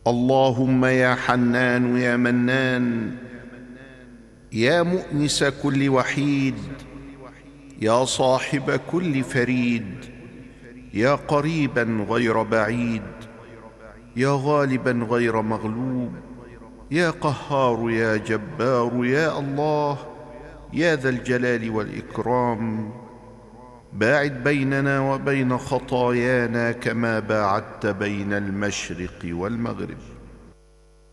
اللهم يا حنان يا منان، يا مؤنس كل وحيد، يا صاحب كل فريد، يا قريبا غير بعيد، يا غالبا غير مغلوب، يا قهار يا جبار يا الله، يا ذا الجلال والإكرام، باعد بيننا وبين خطايانا كما باعدت بين المشرق والمغرب.